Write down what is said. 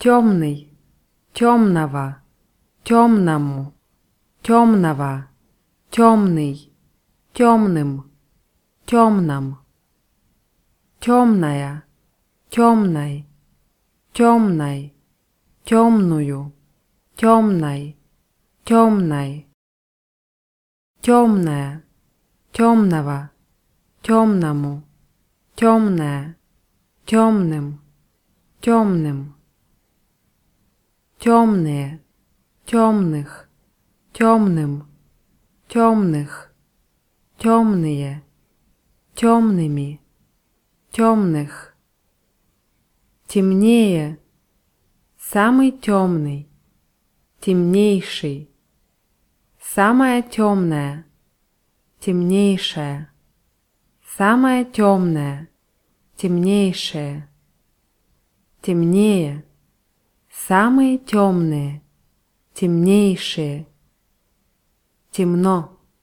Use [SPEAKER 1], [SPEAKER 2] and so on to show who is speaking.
[SPEAKER 1] темный, темного, темному, темного, темный, темным, темном, темная, темной, темной, темную, темной, темной, темная, темного, темному, темная, темным, темным, темные, темных, темным, темных, темные, темными, темных, темнее, самый темный, темнейший, самая темная, темнейшая, самая темная, темнейшая, темнее, самые темные, темнейшие, темно,